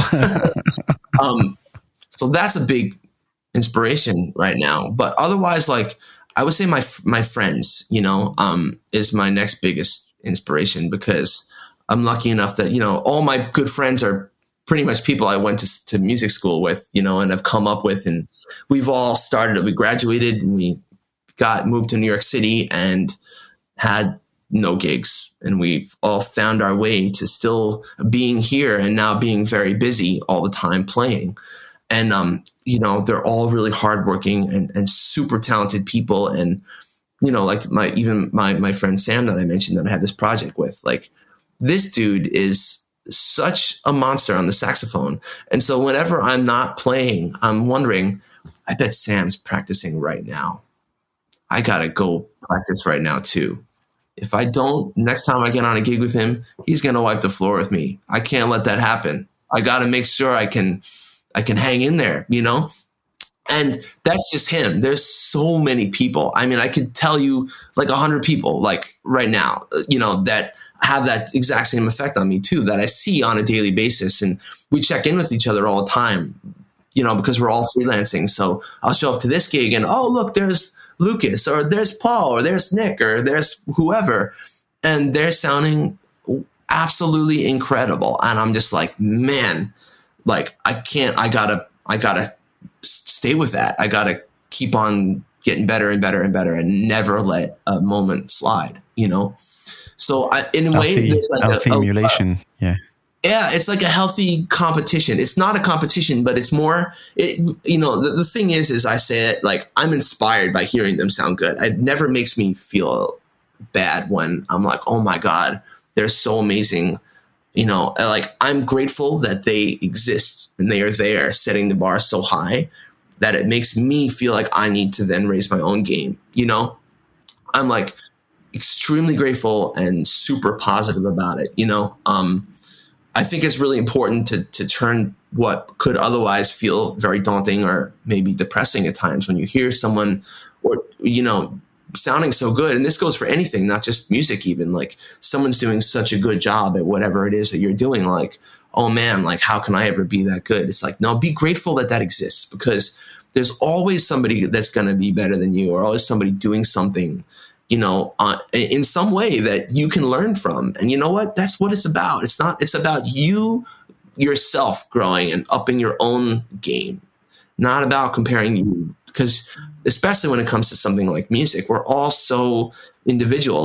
S3: um, so that's a big inspiration right now. But otherwise, like, I would say my my friends, you know, um, is my next biggest inspiration, because I'm lucky enough that, you know, all my good friends are pretty much people I went to, to music school with, you know, and have come up with, and we've all started, we graduated and we got moved to New York City and had no gigs, and we've all found our way to still being here and now being very busy all the time playing. And, um, you know, they're all really hardworking and, and super talented people. And, you know, like my, even my, my friend Sam that I mentioned that I had this project with, like, this dude is such a monster on the saxophone. And so whenever I'm not playing, I'm wondering, I bet Sam's practicing right now. I got to go practice right now too. If I don't, next time I get on a gig with him, he's going to wipe the floor with me. I can't let that happen. I got to make sure I can, I can hang in there, you know? And that's just him. There's so many people. I mean, I could tell you like a hundred people, like right now, you know, that have that exact same effect on me too, that I see on a daily basis. And we check in with each other all the time, you know, because we're all freelancing. So I'll show up to this gig and, oh, look, there's Lucas, or there's Paul, or there's Nick, or there's whoever. And they're sounding absolutely incredible. And I'm just like, man, like, I can't, I gotta, I gotta stay with that. I gotta keep on getting better and better and better and never let a moment slide, you know? So I, in a way,
S1: healthy,
S3: there's like
S1: healthy
S3: a, a
S1: emulation. Yeah.
S3: Yeah, it's like a healthy competition. It's not a competition, but it's more, it, you know, the, the thing is, is I say it like, I'm inspired by hearing them sound good. It never makes me feel bad when I'm like, oh my God, they're so amazing. You know, like, I'm grateful that they exist and they are there setting the bar so high that it makes me feel like I need to then raise my own game. You know, I'm like extremely grateful and super positive about it. You know, um, I think it's really important to to turn what could otherwise feel very daunting or maybe depressing at times when you hear someone, or, you know, sounding so good. And this goes for anything, not just music, even like someone's doing such a good job at whatever it is that you're doing. Like, oh man, like, how can I ever be that good? It's like, no, be grateful that that exists, because there's always somebody that's going to be better than you, or always somebody doing something, you know, uh, in some way that you can learn from. And you know what? That's what it's about. It's not, it's about you yourself growing and upping your own game, not about comparing you. Because especially when it comes to something like music, we're all so individual. Like,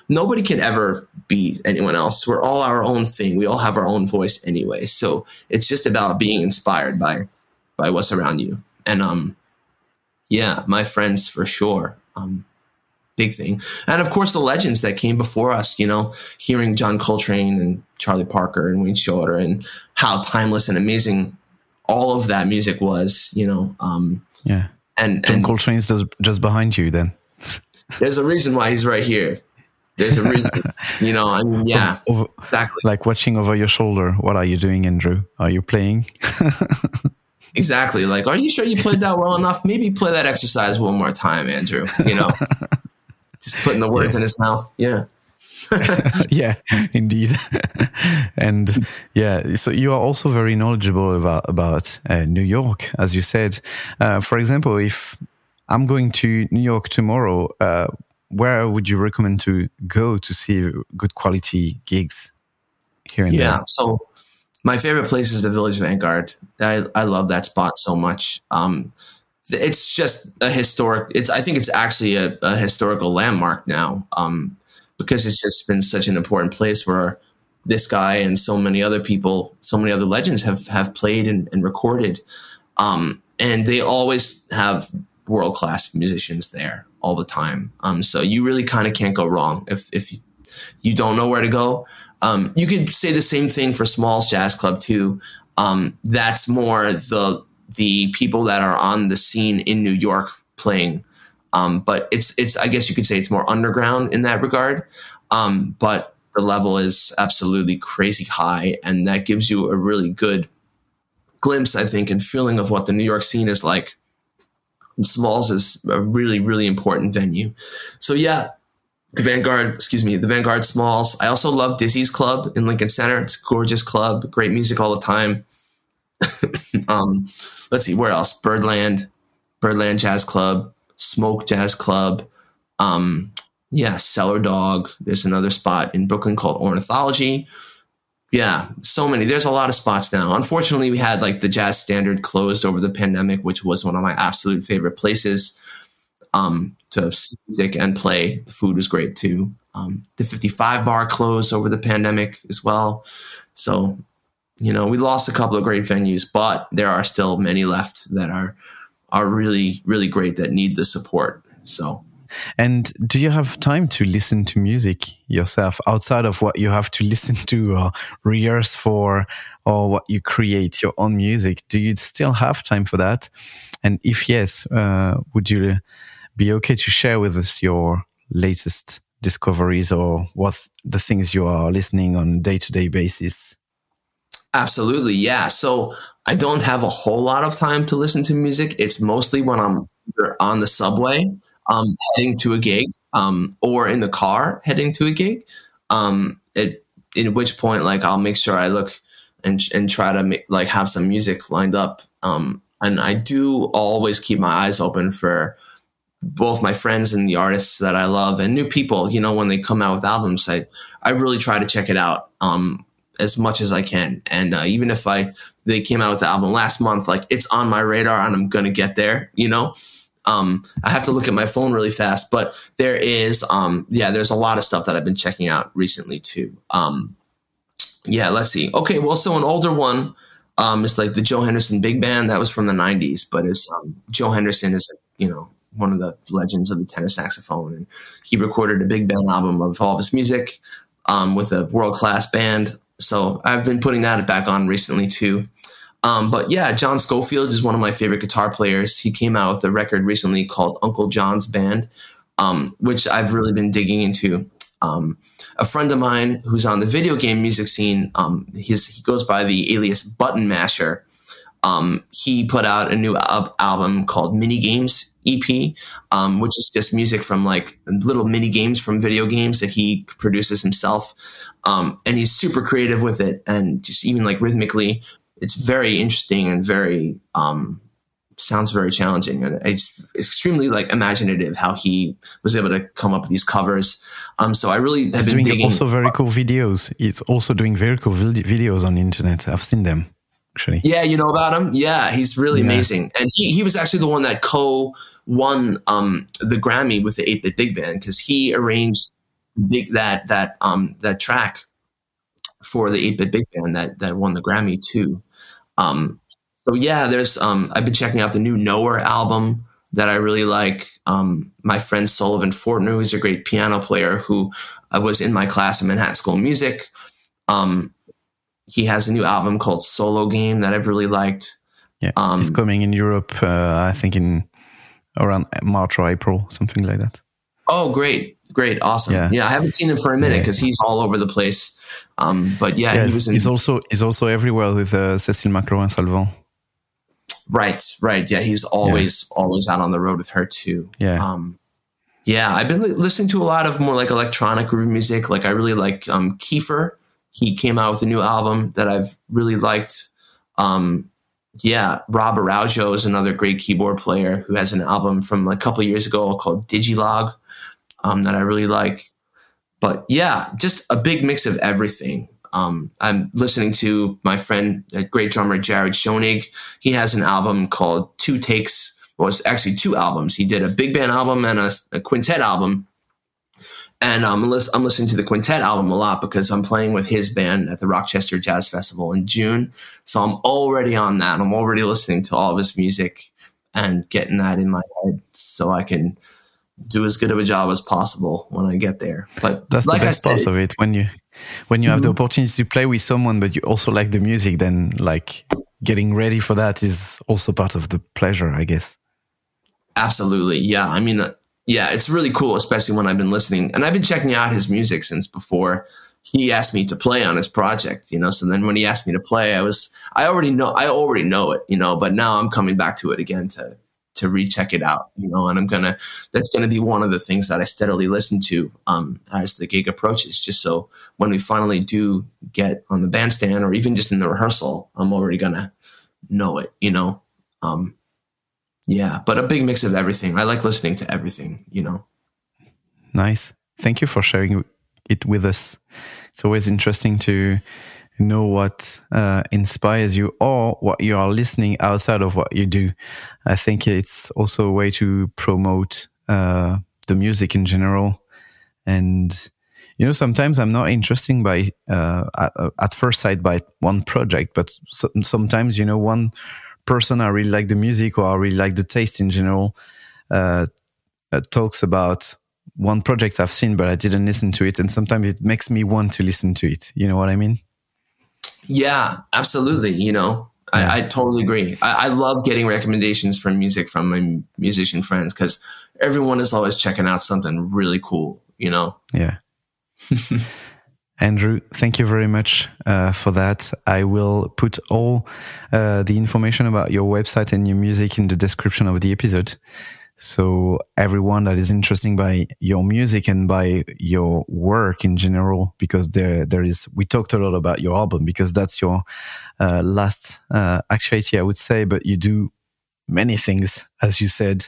S3: nobody can ever be anyone else. We're all our own thing. We all have our own voice anyway. So it's just about being inspired by by what's around you. And um, yeah, my friends for sure. Um, big thing. And of course, the legends that came before us, you know, hearing John Coltrane and Charlie Parker and Wayne Shorter and how timeless and amazing all of that music was, you know. Um,
S1: yeah.
S3: And,
S1: John
S3: and
S1: Coltrane is just, just behind you then.
S3: There's a reason why he's right here. There's a reason, you know, I mean, yeah,
S1: over,
S3: exactly.
S1: Like watching over your shoulder. What are you doing, Andrew? Are you playing?
S3: Exactly. Like, are you sure you played that well enough? Maybe play that exercise one more time, Andrew, you know, just putting the words yeah. in his mouth. Yeah.
S1: Yeah, indeed. And yeah, so you are also very knowledgeable about, about uh, New York, as you said. Uh, for example, if I'm going to New York tomorrow, uh, where would you recommend to go to see good quality gigs here and
S3: yeah,
S1: there?
S3: Yeah, so my favorite place is the Village Vanguard. I, I love that spot so much. Um, it's just a historic, it's, I think it's actually a, a historical landmark now, um, because it's just been such an important place where this guy and so many other people, so many other legends have, have played and, and recorded. Um, and they always have world-class musicians there all the time. Um, so you really kind of can't go wrong if, if you, you don't know where to go. Um, you could say the same thing for Smalls Jazz Club too. Um, that's more the, the people that are on the scene in New York playing. Um, but it's, it's, I guess you could say it's more underground in that regard. Um, but the level is absolutely crazy high. And that gives you a really good glimpse, I think, and feeling of what the New York scene is like. And Smalls is a really, really important venue. So yeah, the Vanguard, excuse me, the Vanguard, Smalls. I also love Dizzy's Club in Lincoln Center. It's a gorgeous club, great music all the time. um, let's see, where else? Birdland, Birdland Jazz Club, Smoke Jazz Club. Um, yeah, Cellar Dog. There's another spot in Brooklyn called Ornithology. Yeah, so many. There's a lot of spots now. Unfortunately, we had like the Jazz Standard closed over the pandemic, which was one of my absolute favorite places um, to see music and play. The food was great too. Um, the fifty-five bar closed over the pandemic as well. So, you know, we lost a couple of great venues, but there are still many left that are are really, really great that need the support. So.
S1: And do you have time to listen to music yourself outside of what you have to listen to or rehearse for or what you create, your own music? Do you still have time for that? And if yes, uh, would you be okay to share with us your latest discoveries or what the things you are listening on a day-to-day basis?
S3: Absolutely, yeah. So I don't have a whole lot of time to listen to music. It's mostly when I'm on the subway Um, heading to a gig, um, or in the car heading to a gig. Um, at, at which point, like, I'll make sure I look and and try to make, like have some music lined up. Um, and I do always keep my eyes open for both my friends and the artists that I love and new people. You know, when they come out with albums, I I really try to check it out um, as much as I can. And uh, even if I they came out with the album last month, like it's on my radar and I'm gonna get there. You know. Um, I have to look at my phone really fast, but there is, um, yeah, there's a lot of stuff that I've been checking out recently too. Um, yeah, let's see. Okay. Well, so an older one, um, is like the Joe Henderson Big Band. That was from the nineties, but it's, um, Joe Henderson is, you know, one of the legends of the tenor saxophone, and he recorded a big band album of all of his music, um, with a world-class band. So I've been putting that back on recently too. Um, but yeah, John Scofield is one of my favorite guitar players. He came out with a record recently called Uncle John's Band, um, which I've really been digging into. Um, a friend of mine who's on the video game music scene, um, his, he goes by the alias Button Masher. Um, he put out a new al- album called Mini Games E P, um, which is just music from like little mini games from video games that he produces himself. Um, and he's super creative with it, and just even like rhythmically, it's very interesting and very, um, sounds very challenging. And it's extremely like imaginative how he was able to come up with these covers. Um, so I really have
S1: He's
S3: been
S1: doing
S3: digging.
S1: Also very cool videos. He's also doing very cool vid- videos on the internet. I've seen them actually.
S3: Yeah. You know about him? Yeah. He's really
S1: yeah.
S3: amazing. And he, he was actually the one that co won, um, the Grammy with the eight bit Big Band, because he arranged big that that um that track for the eight-bit big band that that won the Grammy too. Um, so yeah, there's um I've been checking out the new Nowhere album that I really like. Um, my friend Sullivan Fortner, who's a great piano player who uh, was in my class in Manhattan School of Music. Um, he has a new album called Solo Game that I've really liked.
S1: Yeah,
S3: um,
S1: it's coming in Europe, uh, I think in around March or April, something like that.
S3: Oh, great. Great. Awesome. Yeah. yeah I haven't seen him for a minute because yeah. he's all over the place. Um, but yeah,
S1: yes,
S3: he was in,
S1: he's also, he's also everywhere with uh, Cécile McLaurin-Salvant.
S3: Right. Right. Yeah. He's always, yeah. always out on the road with her too.
S1: Yeah.
S3: Um, yeah. I've been li- listening to a lot of more like electronic groove music. Like I really like, um, Kiefer. He came out with a new album that I've really liked. Um, yeah. Rob Araujo is another great keyboard player who has an album from like a couple of years ago called Digilog, um, that I really like. But yeah, just a big mix of everything. Um, I'm listening to my friend, a great drummer, Jared Schoenig. He has an album called Two Takes. Well, it's actually two albums. He did a big band album and a, a quintet album. And um, I'm listening to the quintet album a lot because I'm playing with his band at the Rochester Jazz Festival in June. So I'm already on that. I'm already listening to all of his music and getting that in my head so I can do as good of a job as possible when I get there. But
S1: that's
S3: like
S1: the best
S3: I said,
S1: part of it. When you when you have
S3: mm-hmm.
S1: the opportunity to play with someone, but you also like the music, then like getting ready for that is also part of the pleasure, I guess.
S3: Absolutely. Yeah. I mean, uh, yeah, it's really cool, especially when I've been listening. And I've been checking out his music since before he asked me to play on his project, you know. So then when he asked me to play, I was, I already know, I already know it, you know, but now I'm coming back to it again to, to recheck it out, you know, and I'm going to, that's going to be one of the things that I steadily listen to um, as the gig approaches, just so when we finally do get on the bandstand or even just in the rehearsal, I'm already going to know it, you know. Um, yeah, but a big mix of everything. I like listening to everything, you know.
S1: Nice. Thank you for sharing it with us. It's always interesting to know what uh, inspires you or what you are listening outside of what you do. I think it's also a way to promote uh, the music in general. And, you know, sometimes I'm not interested by, uh, at, at first sight by one project, but so, sometimes, you know, one person I really like the music or I really like the taste in general uh, uh, talks about one project I've seen, but I didn't listen to it. And sometimes it makes me want to listen to it. You know what I mean?
S3: Yeah, absolutely. You know, yeah. I, I totally agree. I, I love getting recommendations from music from my musician friends because everyone is always checking out something really cool, you know?
S1: Yeah. Andrew, thank you very much uh, for that. I will put all uh, the information about your website and your music in the description of the episode. So everyone that is interested by your music and by your work in general, because there there is, we talked a lot about your album because that's your uh, last uh, actuality, I would say, but you do many things, as you said.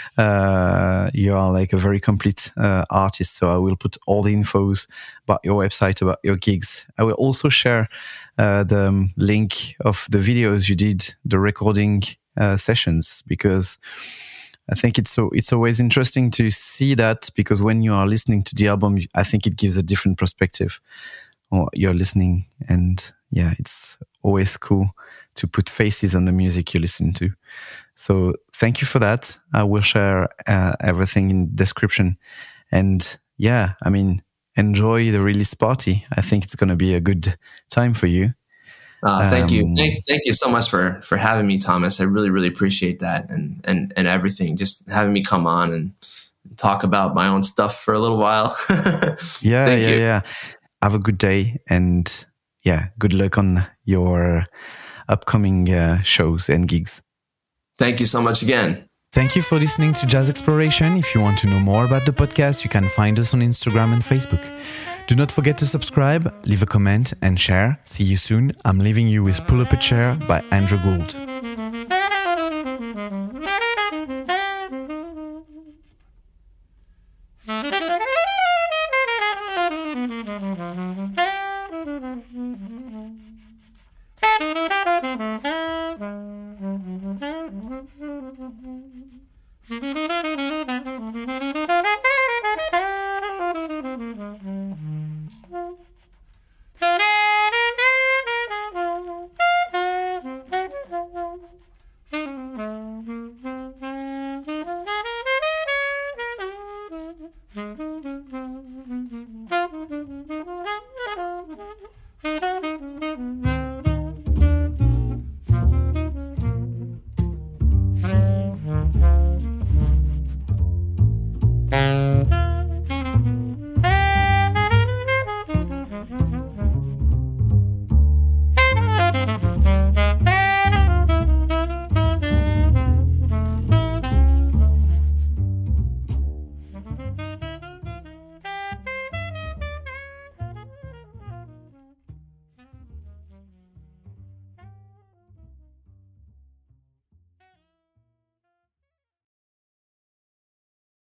S1: Uh, you are like a very complete uh, artist. So I will put all the infos about your website, about your gigs. I will also share uh, the um, link of the videos you did, the recording uh, sessions, because I think it's so it's always interesting to see that, because when you are listening to the album, I think it gives a different perspective on what you're listening. And yeah, it's always cool to put faces on the music you listen to. So thank you for that. I will share uh, everything in the description. And yeah, I mean, enjoy the release party. I think it's going to be a good time for you.
S3: Uh, thank um, you. Thank, thank you so much for, for having me, Thomas. I really, really appreciate that. And, and, and everything, just having me come on and talk about my own stuff for a little while.
S1: yeah,
S3: thank
S1: yeah,
S3: you.
S1: yeah. Have a good day. And yeah, good luck on your upcoming uh, shows and gigs.
S3: Thank you so much again.
S1: Thank you for listening to Jazz Exploration. If you want to know more about the podcast, you can find us on Instagram and Facebook. Do not forget to subscribe, leave a comment, and share. See you soon. I'm leaving you with Pull Up a Chair by Andrew Gould.
S2: Thank you.